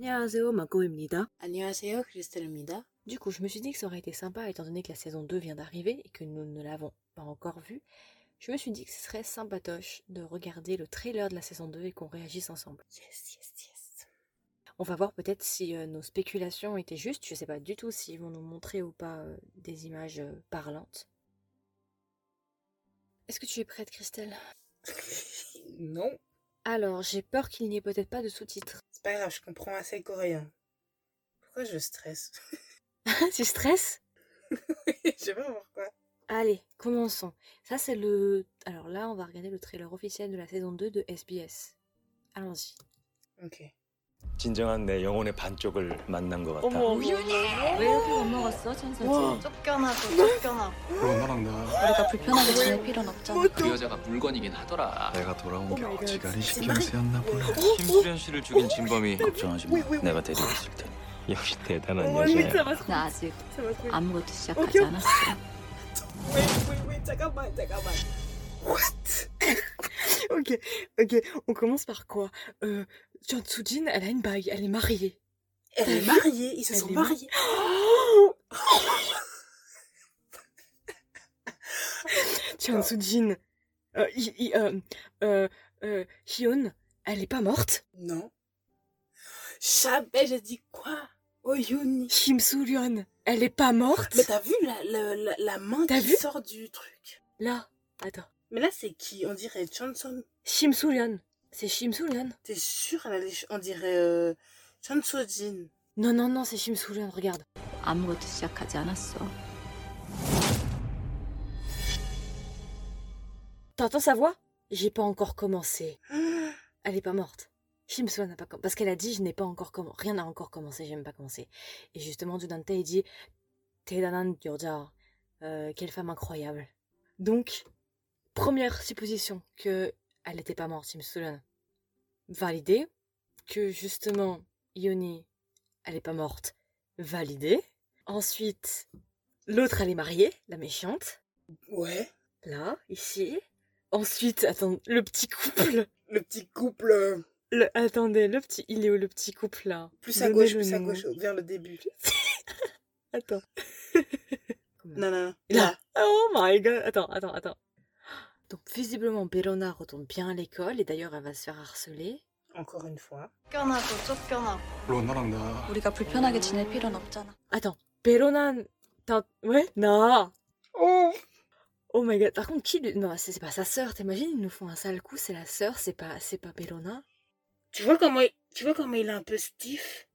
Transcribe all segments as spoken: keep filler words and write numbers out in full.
안녕하세요, 마코입니다. 안녕하세요, 크리스텔입니다. Du coup, je me suis dit que ça aurait été sympa, étant donné que la saison deux vient d'arriver et que nous ne l'avons pas encore vue. Je me suis dit que ce serait sympatoche de regarder le trailer de la saison deux et qu'on réagisse ensemble. Yes, yes, yes. On va voir peut-être si euh, nos spéculations étaient justes. Je sais pas du tout s'ils vont nous montrer ou pas euh, des images euh, parlantes. Est-ce que tu es prête, Christelle? Non. Alors, j'ai peur qu'il n'y ait peut-être pas de sous-titres. C'est pas grave, je comprends assez coréen. Pourquoi je stresse? Tu stresses? Je sais pas pourquoi. Allez, commençons. Ça, c'est le... Alors là, on va regarder le trailer officiel de la saison deux de S B S. Allons-y. Ok. 진정한 내 영혼의 반쪽을 만난 것 같아. 어머, 우윤이! 왜 이렇게 못 먹었어, 천사지? 와. 쫓겨나고 쫓겨나고 그럼 나랑 나 우리가 불편하게 지낼 필요는 없잖아. 그 여자가 물건이긴 하더라. 내가 돌아온 게 오 마이 갓. 어지간히 신경 쓰였나 보네. 김수련 씨를 죽인 진범이 걱정하지 마. 내가 데리고 있을 테니. 역시 대단한 Oh, mais ça 여자야. va trop. 나 아직 Ça va trop. 아무것도 시작하지 오케이. 않았어. Wait, wait, wait, 잠깐만, 잠깐만. What? Ok, ok. On commence par quoi euh, Jeon Soo-jin, elle a une bague, elle est mariée. Elle est mariée, ils se Elle sont est mariés. Jeon Soo-jin, euh, hi- hi- euh, euh, euh, Hyun, elle est pas morte. Non. Jamais j'ai dit quoi? Oh Yuni. Kim Soo-ryun, elle est pas morte. Mais t'as vu la, la, la, la main T'as qui vu sort du truc? Là, attends. Mais là, c'est qui? On dirait Chanson. Kim Soo-ryun, c'est Kim Soo-ryun. T'es sûre? Elle a les ch- On dirait euh, Chansojin. Non, non, non, c'est Kim Soo-ryun, regarde. 아무것도 시작하지 않았어. T'entends sa voix? J'ai pas encore commencé. Elle est pas morte. Kim Soo-ryun n'a pas commencé. Parce qu'elle a dit, je n'ai pas encore commencé. Rien n'a encore commencé, j'ai même pas commencé. Et justement, Du Dante, il dit, 대단한 여자. Euh, quelle femme incroyable. Donc, première supposition que elle n'était pas morte, Kim Soo-ryun. Validée. Que justement, Yoni, elle est pas morte. Validée. Ensuite, l'autre, elle est mariée, la méchante. Ouais. Là, ici. Ensuite, attends, le petit couple. Le petit couple. euh, Le, attendez, le petit, il est où le petit couple là? Plus à Donnez gauche, le plus à nom. gauche, vers le début. Attends. Non, non, non. Là. Oh my god. Attends, attends, attends. Donc visiblement, Bellona retourne bien à l'école et d'ailleurs elle va se faire harceler. Encore une fois. 쫓겨나고 쫓겨나고 그럼 나랑 나 우리가 불편하게 지낼 필요는 없잖아. Attends, Bellona, t'as... Ouais, non. Oh. Oh my god. Par contre, qui lui... Non, c'est c'est pas sa sœur. T'imagines, ils nous font un sale coup. C'est la sœur, c'est pas, c'est pas Bellona. Tu vois comment il... tu vois comment il est un peu stiff?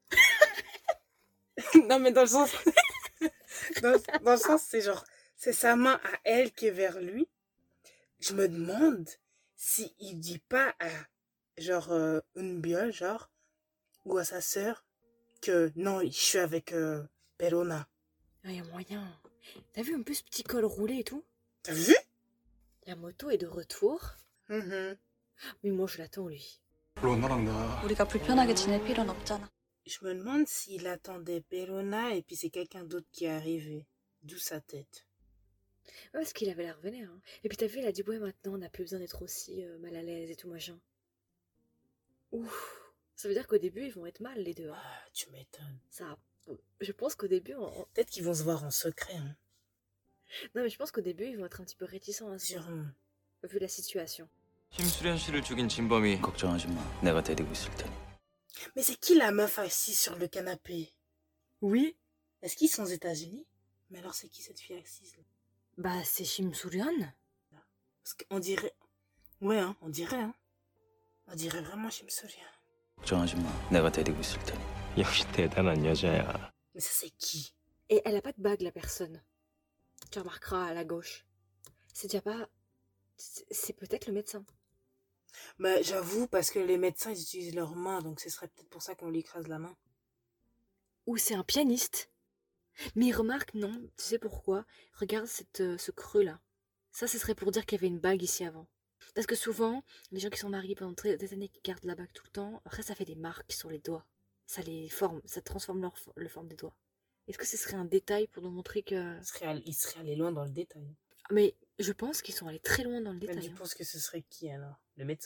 Non, mais dans le sens... dans, dans le sens, c'est genre... C'est sa main à elle qui est vers lui. Je me demande si il dit pas à... Genre, euh, une biole, genre... Ou à sa sœur... Que non, je suis avec euh, Bellona. Ah, y a moyen. T'as vu en plus petit col roulé et tout? T'as vu? La moto est de retour. Mhm. Mais moi, je l'attends lui. 그럼 나랑 나 우리가 불편하게 지낼 필요는 없잖아. Je me demande s'il attendait Bellona et puis c'est quelqu'un d'autre qui est arrivé. D'où sa tête. Ouais, parce qu'il avait l'air vénère. Hein. Et puis t'as vu, il a dit ouais maintenant on n'a plus besoin d'être aussi euh, mal à l'aise et tout machin. Ouf. Ça veut dire qu'au début ils vont être mal les deux. Hein. Ah, tu m'étonnes. Ça. Je pense qu'au début, on- on- Peut-être qu'ils vont se voir en secret, hein. non mais je pense qu'au début ils vont être un petit peu réticents à se voir, Sûrement. vu la situation. 김수련 씨를 죽인 진범이 걱정하지 마. 내가 데리고 있을 테니. Mais c'est qui la meuf assise sur le canapé? Oui. Est-ce qu'ils sont aux États-Unis? Mais alors c'est qui cette fille assise là? Bah c'est Kim Soo-ryun. Parce qu'on dirait... Ouais, hein, on dirait, hein. On dirait vraiment Kim Soo-ryun. 걱정하지 마. 내가 데리고 있을 테니. 역시 대단한 여자야. Mais ça c'est qui? Et elle a pas de bague la personne. Tu remarqueras à la gauche. C'est déjà pas... C'est c'est peut-être le médecin. Bah j'avoue, parce que les médecins ils utilisent leurs mains, donc ce serait peut-être pour ça qu'on lui écrase la main. Ou c'est un pianiste. Mais remarque, non, tu sais pourquoi? Regarde cette, euh, ce creux-là. Ça, ce serait pour dire qu'il y avait une bague ici avant. Parce que souvent, les gens qui sont mariés pendant très- des années, qui gardent la bague tout le temps, après ça fait des marques sur les doigts. Ça les forme, ça transforme leur, fo- le forme des doigts. Est-ce que ce serait un détail pour nous montrer que... Il serait, all- il serait allé loin dans le détail. Mais je pense qu'ils sont allés très loin dans le Mais détail. tu hein. penses que ce serait qui alors? Le médecin?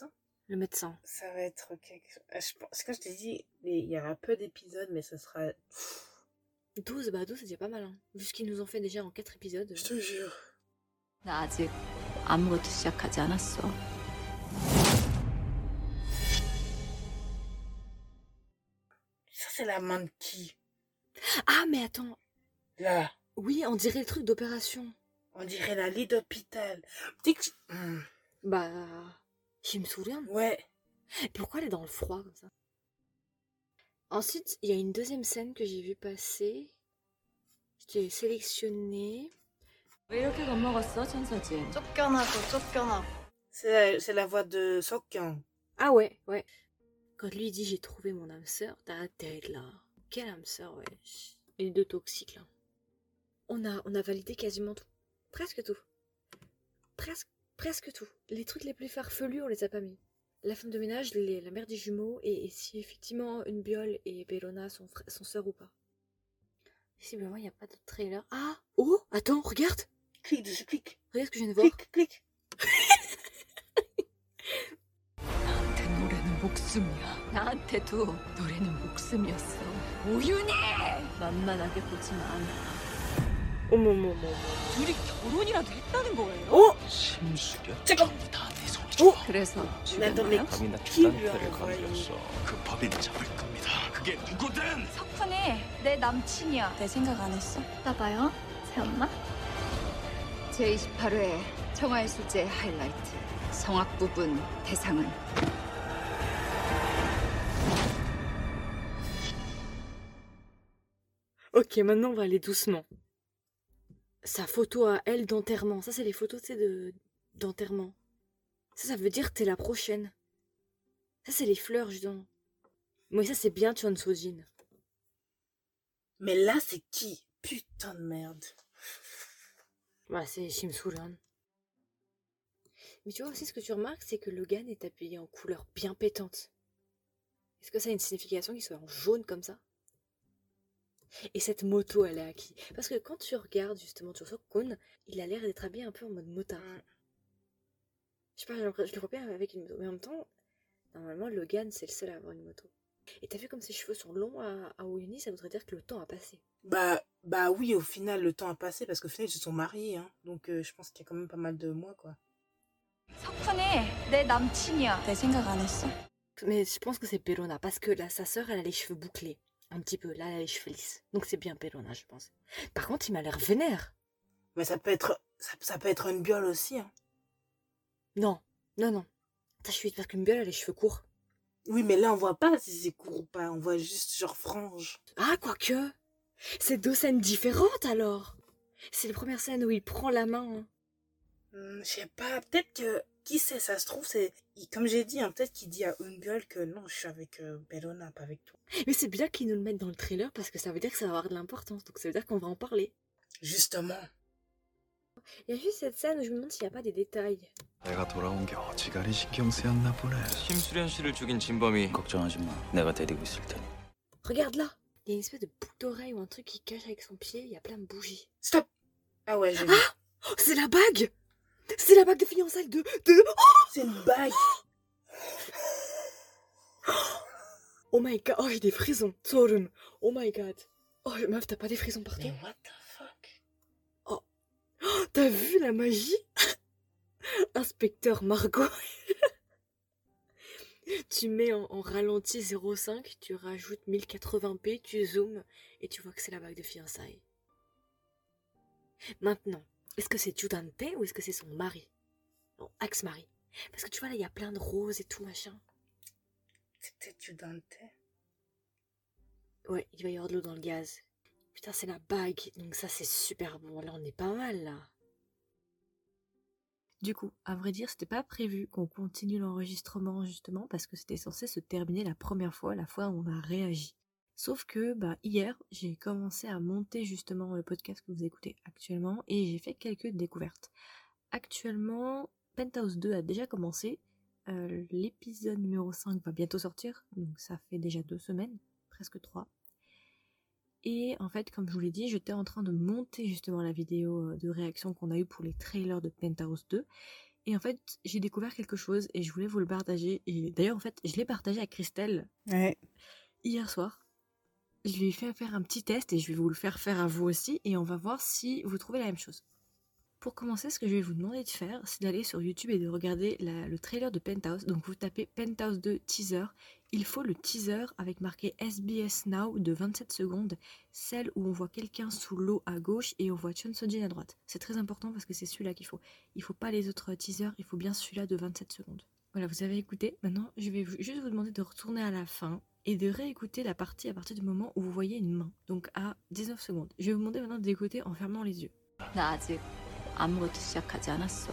le médecin. Ça va être quelque chose. Je pense que je t'ai dit, il y aura peu d'épisodes, mais ça sera. douze, bah douze c'est déjà pas mal, hein. Vu ce qu'ils nous ont fait déjà en quatre épisodes. Je te jure. 나 아직 아무것도 시작하지 않았어. Ça, c'est la main de qui? Ah, mais attends. Là. Oui, on dirait le truc d'opération. On dirait la lit d'hôpital. Tu sais que tu- Hmm. Bah, je me souviens. Ouais. Pourquoi elle est dans le froid comme ça? Ensuite, il y a une deuxième scène que j'ai vue passer. Je l'ai sélectionnée. 왜 이렇게 겁먹었어, 천서진? 쫓겨나고 쫓겨나고. C'est la, c'est la voix de Sokkyang. Ah ouais, ouais. Quand lui dit j'ai trouvé mon âme sœur, t'as la tête là. Quelle âme sœur, ouais. Les deux toxiques là. On a, on a validé quasiment tout. Presque tout. Presque, presque tout. Les trucs les plus farfelus, on les a pas mis. La femme de ménage, les- la mère des jumeaux, et, et si effectivement une Biol et Bellona sont, frères- sont sœurs ou pas. Visiblement, il n'y a pas de trailer. Ah! Oh! Attends, regarde! Clique dessus, clique. Regarde ce que je viens de voir. Clique, clique. 나한테 노래는 목숨이야. 나한테도 노래는 목숨이었어. 우윤희! 만만하게 보지만 않아. 어머, 어머, 어머. 둘이 결혼이라도 했다는 거예요? Oh! 심수련? 잠깐. 전부 다내 손이 어? 그래서 Mais attends, mais 죽였나요? 밤이 나 qui 주단 lui a 패를 envoyé? 건드렸어. 그 법인 잡을 겁니다. 그게 누구든! 석훈이 내 남친이야. 내 생각 안 했어? 봐봐요, 새엄마. 제이십팔 회 청하예술제 하이라이트 성악 부분 대상은 Ok, maintenant on va aller doucement. Sa photo à elle d'enterrement. Ça, c'est les photos, tu sais, de... d'enterrement. Ça, ça veut dire t'es la prochaine. Ça, c'est les fleurs, justement. Moi, ça, c'est bien Chon Sojin. Mais là, c'est qui? Putain de merde. Bah, c'est Shim Soo-ryun. Mais tu vois aussi, ce que tu remarques, c'est que Logan est habillé en couleur bien pétante. Est-ce que ça a une signification qu'il soit en jaune comme ça? Et cette moto, elle est à qui? Parce que quand tu regardes justement Chosok-kun, il a l'air d'être habillé un peu en mode motard. Mm. Je sais pas, j'ai l'impression- je le vois bien avec une moto. Mais en même temps, normalement, Logan, c'est le seul à avoir une moto. Et t'as vu comme ses cheveux sont longs à, à Oyuni, ça voudrait dire que le temps a passé. Bah, bah oui, au final, le temps a passé parce qu'au final, ils se sont mariés. Hein. Donc, euh, je pense qu'il y a quand même pas mal de mois, quoi. 석훈이 내 남친이야. 내 생각 안 했어? Mais je pense que c'est Bellona, parce que là, sa sœur, elle a les cheveux bouclés. Un petit peu. Là, elle a les cheveux lisses. Donc c'est bien Bellona, je pense. Par contre, il m'a l'air vénère. Mais ça peut être, ça, ça peut être une biole aussi. Hein. Non, non, non. Ça, je suis parce qu'une Biole a les cheveux courts. Oui, mais là, on voit pas si c'est court ou pas. On voit juste genre frange. Ah, quoique. C'est deux scènes différentes, alors. C'est la première scène où il prend la main. hein. Hmm, je sais pas, peut-être que, qui sait, ça se trouve, c'est, il- comme j'ai dit, hein, peut-être qu'il dit à une biole que non, je suis avec euh, Bellona, pas avec toi. Mais c'est bien qu'ils nous le mettent dans le trailer parce que ça veut dire que ça va avoir de l'importance. Donc ça veut dire qu'on va en parler. Justement. Il y a juste cette scène où je me demande s'il n'y a pas des détails. 내가 돌아온 게 어지간히 신경 쓰였나 보네. 심수련 씨를 죽인 진범이 걱정하지 마. 내가 데리고 있을 테니. Regarde là. Il y a une espèce de boucle d'oreille ou un truc qui cache avec son pied. Il y a plein de bougies. Stop. Ah ouais, j'ai vu. Oh, c'est la bague. C'est la bague de fiançailles de... de... Oh, C'est une bague. oh my god. Oh, j'ai des frissons. Sorum. Oh my god. Oh, meuf, t'as pas des frissons partout? Mais what the fuck? Oh, t'as vu la magie? Inspecteur Margot. Tu mets en, en ralenti zéro virgule cinq, tu rajoutes mille quatre-vingts p, tu zoomes et tu vois que c'est la bague de fiançailles. Maintenant, est-ce que c'est Judante ou est-ce que c'est son mari? Non, ex-mari. Parce que tu vois là, il y a plein de roses et tout machin. C'est peut-être du Dante. Ouais, il va y avoir de l'eau dans le gaz. Putain, c'est la bague. Donc ça, c'est super bon. Là, on est pas mal, là. Du coup, à vrai dire, c'était pas prévu qu'on continue l'enregistrement, justement, parce que c'était censé se terminer la première fois, la fois où on a réagi. Sauf que, bah, hier, j'ai commencé à monter, justement, le podcast que vous écoutez actuellement, et j'ai fait quelques découvertes. Actuellement, Penthouse deux a déjà commencé. Euh, l'épisode numéro cinq va bientôt sortir, donc ça fait déjà deux semaines, presque trois. Et en fait, comme je vous l'ai dit, j'étais en train de monter justement la vidéo de réaction qu'on a eue pour les trailers de Penthouse deux. Et en fait, j'ai découvert quelque chose et je voulais vous le partager. Et d'ailleurs, en fait, je l'ai partagé à Christelle Ouais. hier soir. Je lui ai fait faire un petit test et je vais vous le faire faire à vous aussi. Et on va voir si vous trouvez la même chose. Pour commencer, ce que je vais vous demander de faire, c'est d'aller sur YouTube et de regarder la- le trailer de Penthouse. Donc vous tapez Penthouse deux teaser. Il faut le teaser avec marqué S B S Now de vingt-sept secondes, celle où on voit quelqu'un sous l'eau à gauche et on voit Chun Soo-jin à droite. C'est très important parce que c'est celui-là qu'il faut. Il faut pas les autres teasers, il faut bien celui-là de vingt-sept secondes. Voilà, vous avez écouté. Maintenant, je vais vous- juste vous demander de retourner à la fin et de réécouter la partie à partir du moment où vous voyez une main. Donc à dix-neuf secondes. Je vais vous demander maintenant d'écouter en fermant les yeux. 나 아직 아무것도 시작하지 않았어.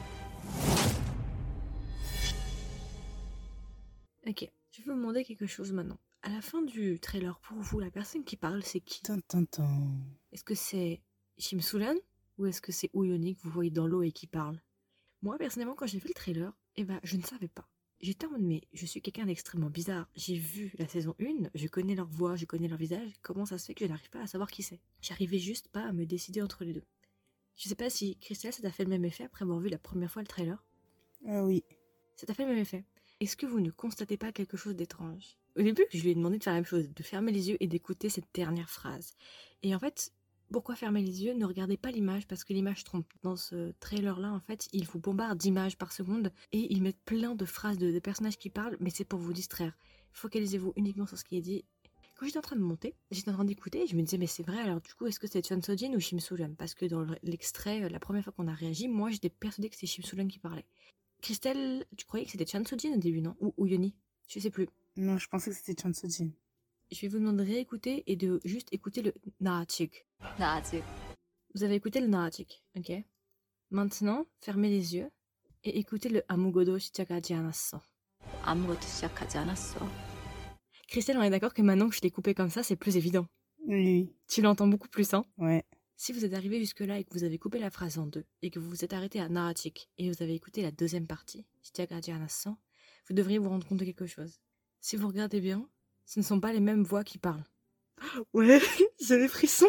Ok, je vais vous demander quelque chose maintenant. À la fin du trailer, pour vous, la personne qui parle, c'est qui? Tan, tan, tan. Est-ce que c'est Shim Soo-hyun ou est-ce que c'est Woo-yeon que vous voyez dans l'eau et qui parle? Moi, personnellement, quand j'ai vu le trailer, eh ben, je ne savais pas. J'étais en mode, mais je suis quelqu'un d'extrêmement bizarre. J'ai vu la saison un, je connais leur voix, je connais leur visage. Comment ça se fait que je n'arrive pas à savoir qui c'est? J'arrivais juste pas à me décider entre les deux. Je sais pas si, Christelle, ça t'a fait le même effet après avoir vu la première fois le trailer? Ah oui. Ça t'a fait le même effet. Est-ce que vous ne constatez pas quelque chose d'étrange? Au début, je lui ai demandé de faire la même chose, de fermer les yeux et d'écouter cette dernière phrase. Et en fait, pourquoi fermer les yeux? Ne regardez pas l'image parce que l'image trompe. Dans ce trailer-là, en fait, ils vous bombardent d'images par seconde et ils mettent plein de phrases de, de personnages qui parlent, mais c'est pour vous distraire. Focalisez-vous uniquement sur ce qui est dit. Quand j'étais en train de monter, j'étais en train d'écouter et je me disais, mais c'est vrai, alors du coup, est-ce que c'est Chun Soo-jin ou Shim Soo-hyun? Parce que dans l'extrait, la première fois qu'on a réagi, moi, j'étais persuadée que c'était Shim Soo-hyun qui parlait. Christelle, tu croyais que c'était Chun Soo-jin au début, non? Ou Woo-yeon? Je sais plus. Non, je pensais que c'était Chun Soo-jin. Je vais vous demander de réécouter et de juste écouter le 나아직. 나 아직 Vous avez écouté le 나아직, ok? Maintenant, fermez les yeux et écoutez le 아무것도 시작하지 않았어. 아무것도 시작하지 않았어. Christelle, on est d'accord que maintenant que je l'ai coupé comme ça, c'est plus évident. Oui. Tu l'entends beaucoup plus, hein? Ouais. Si vous êtes arrivé jusque-là et que vous avez coupé la phrase en deux et que vous vous êtes arrêté à 나아직 et vous avez écouté la deuxième partie, 시작하지 않았어, vous devriez vous rendre compte de quelque chose. Si vous regardez bien, ce ne sont pas les mêmes voix qui parlent. Ouais, j'ai les frissons.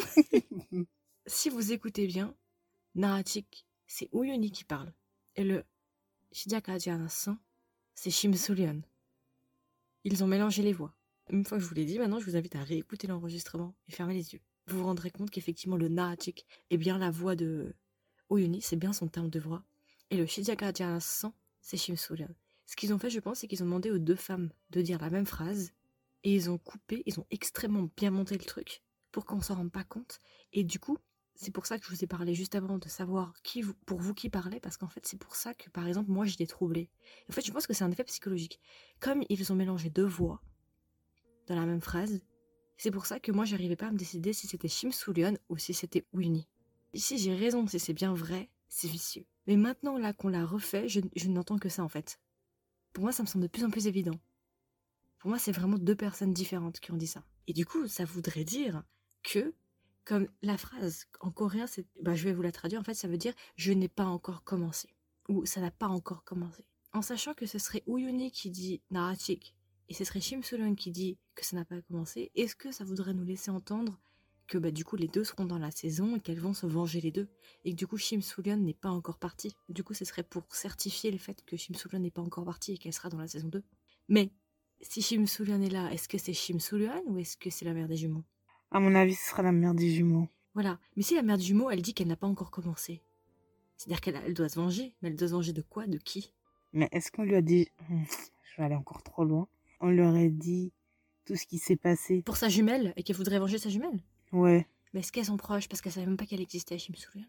Si vous écoutez bien, 나아직, c'est Woo-yeon qui parle. Et le 시작하지 않았어, c'est Shim Soo-hyun. Ils ont mélangé les voix. Une fois que je vous l'ai dit, maintenant je vous invite à réécouter l'enregistrement et fermer les yeux. Vous vous rendrez compte qu'effectivement le 나아직 est bien la voix de Woo-yeon, c'est bien son terme de voix. Et le 시작하지 않았어, c'est Shim Soo-hyun. Ce qu'ils ont fait, je pense, c'est qu'ils ont demandé aux deux femmes de dire la même phrase et ils ont coupé, ils ont extrêmement bien monté le truc pour qu'on s'en rende pas compte. Et du coup, c'est pour ça que je vous ai parlé juste avant de savoir qui vous, pour vous qui parlait, parce qu'en fait, c'est pour ça que, par exemple, moi, j'étais troublée. En fait, je pense que c'est un effet psychologique. Comme ils ont mélangé deux voix dans la même phrase, c'est pour ça que moi, j'arrivais pas à me décider si c'était Shim Soo-hyun ou si c'était Woo-yeon. Si j'ai raison, si c'est bien vrai, c'est vicieux. Mais maintenant, là, qu'on l'a refait, je, je n'entends que ça, en fait. Pour moi, ça me semble de plus en plus évident. Pour moi, c'est vraiment deux personnes différentes qui ont dit ça. Et du coup, ça voudrait dire que, comme la phrase en coréen, c'est, bah, je vais vous la traduire, en fait, ça veut dire « je n'ai pas encore commencé » ou « ça n'a pas encore commencé ». En sachant que ce serait Woo-yeon qui dit « 나아직 » et ce serait Shim Soo-hyun qui dit que ça n'a pas commencé, est-ce que ça voudrait nous laisser entendre que bah, du coup les deux seront dans la saison et qu'elles vont se venger les deux, et que du coup Shim Soo-hyun n'est pas encore partie. Du coup ce serait pour certifier le fait que Shim Soo-hyun n'est pas encore partie et qu'elle sera dans la saison deux. Mais si Shim Soo-hyun est là, est-ce que c'est Shim Soo-hyun ou est-ce que c'est la mère des jumeaux? À mon avis, ce sera la mère des jumeaux. Voilà, mais si la mère des jumeaux, elle dit qu'elle n'a pas encore commencé, c'est-à-dire qu'elle elle doit se venger, mais elle doit se venger de quoi? De qui? Mais est-ce qu'on lui a dit... Je vais aller encore trop loin. On lui aurait dit tout ce qui s'est passé. Pour sa jumelle, et qu'elle voudrait venger sa jumelle? Ouais. Mais est-ce qu'elles sont proches parce qu'elles savaient même pas qu'elle existait, Shim Soo-hyun?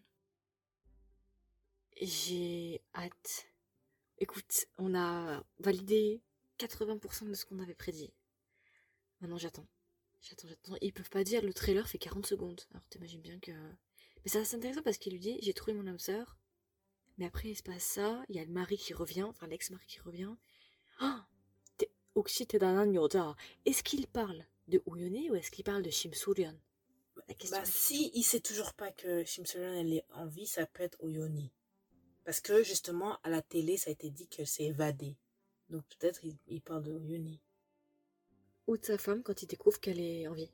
J'ai hâte. Écoute, on a validé quatre-vingts pour cent de ce qu'on avait prédit. Maintenant j'attends. J'attends, j'attends. Ils peuvent pas dire le trailer fait quarante secondes. Alors t'imagines bien que... Mais ça c'est intéressant parce qu'il lui dit j'ai trouvé mon âme sœur. Mais après il se passe ça, il y a le mari qui revient, enfin l'ex-mari qui revient. Ah, 혹시 대단한 여자. Est-ce qu'il parle de Woo-yeon ou est-ce qu'il parle de Shim Soo-hyun? La question Bah est- si il sait toujours pas que Shim Soo-hyun elle est en vie, ça peut être Woo-yeon. Parce que justement à la télé ça a été dit que c'est évadé. Donc peut-être il, il parle de Woo-yeon. Ou de sa femme quand il découvre qu'elle est en vie.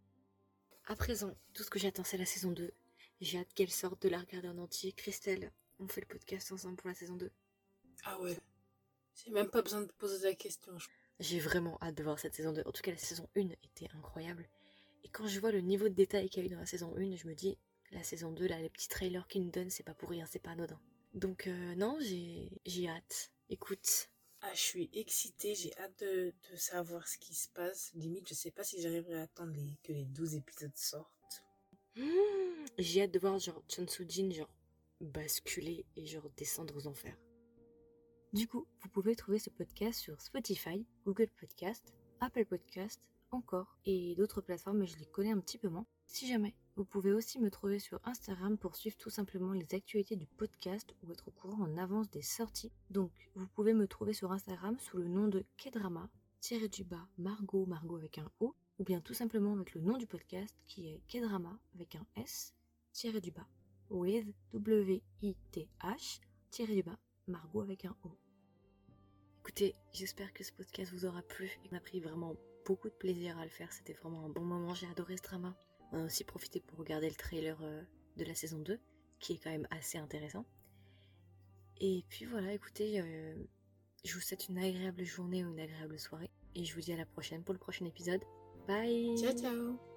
À présent, tout ce que j'attends c'est la saison deux. J'ai hâte qu'elle sorte de la regarder en entier. Christelle, on fait le podcast ensemble pour la saison deux. Ah ouais. J'ai même pas besoin de poser la question. je- J'ai vraiment hâte de voir cette saison deux. En tout cas, la saison un était incroyable. Et quand je vois le niveau de détail qu'il y a eu dans la saison un, je me dis, la saison deux, là, les petits trailers qu'ils nous donnent, c'est pas pour rien, c'est pas anodin. Donc euh, non, j'ai j'ai hâte. Écoute, Ah, je suis excitée, j'ai hâte de, de savoir ce qui se passe. Limite, je sais pas si j'arriverai à attendre les- que les douze épisodes sortent. hmm, j'ai hâte de voir genre Chon Soo-jin genre basculer et genre descendre aux enfers. Du coup, vous pouvez trouver ce podcast sur Spotify, Google Podcast, Apple Podcast, encore, et d'autres plateformes, mais je les connais un petit peu moins. Si jamais, vous pouvez aussi me trouver sur Instagram pour suivre tout simplement les actualités du podcast ou être au courant en avance des sorties. Donc, vous pouvez me trouver sur Instagram sous le nom de Kedrama, tiré du bas, Margot, Margot avec un O, ou bien tout simplement avec le nom du podcast qui est Kedrama avec un S, tiré du bas, with, W I T H, tiré du bas, Margot avec un O. Écoutez, j'espère que ce podcast vous aura plu et qu'on a pris vraiment beaucoup de plaisir à le faire. C'était vraiment un bon moment, j'ai adoré ce drama. On a aussi profité pour regarder le trailer euh, de la saison deux, qui est quand même assez intéressant. Et puis voilà, écoutez, euh, je vous souhaite une agréable journée ou une agréable soirée. Et je vous dis à la prochaine pour le prochain épisode. Bye! Ciao, ciao!